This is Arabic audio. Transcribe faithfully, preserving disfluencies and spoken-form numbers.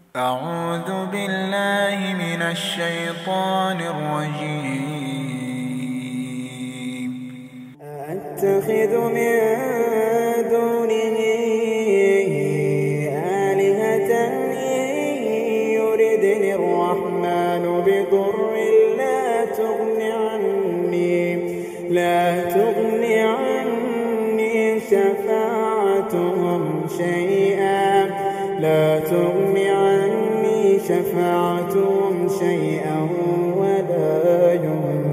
أعوذ بالله من الشيطان الرجيم. أتخذ من دونه آلهة يردني الرحمن بضر لا تغن عني لا تغن عني شفاعتهم شيئا لا تغن عني شفاعتهم شيئا ولا ينفعون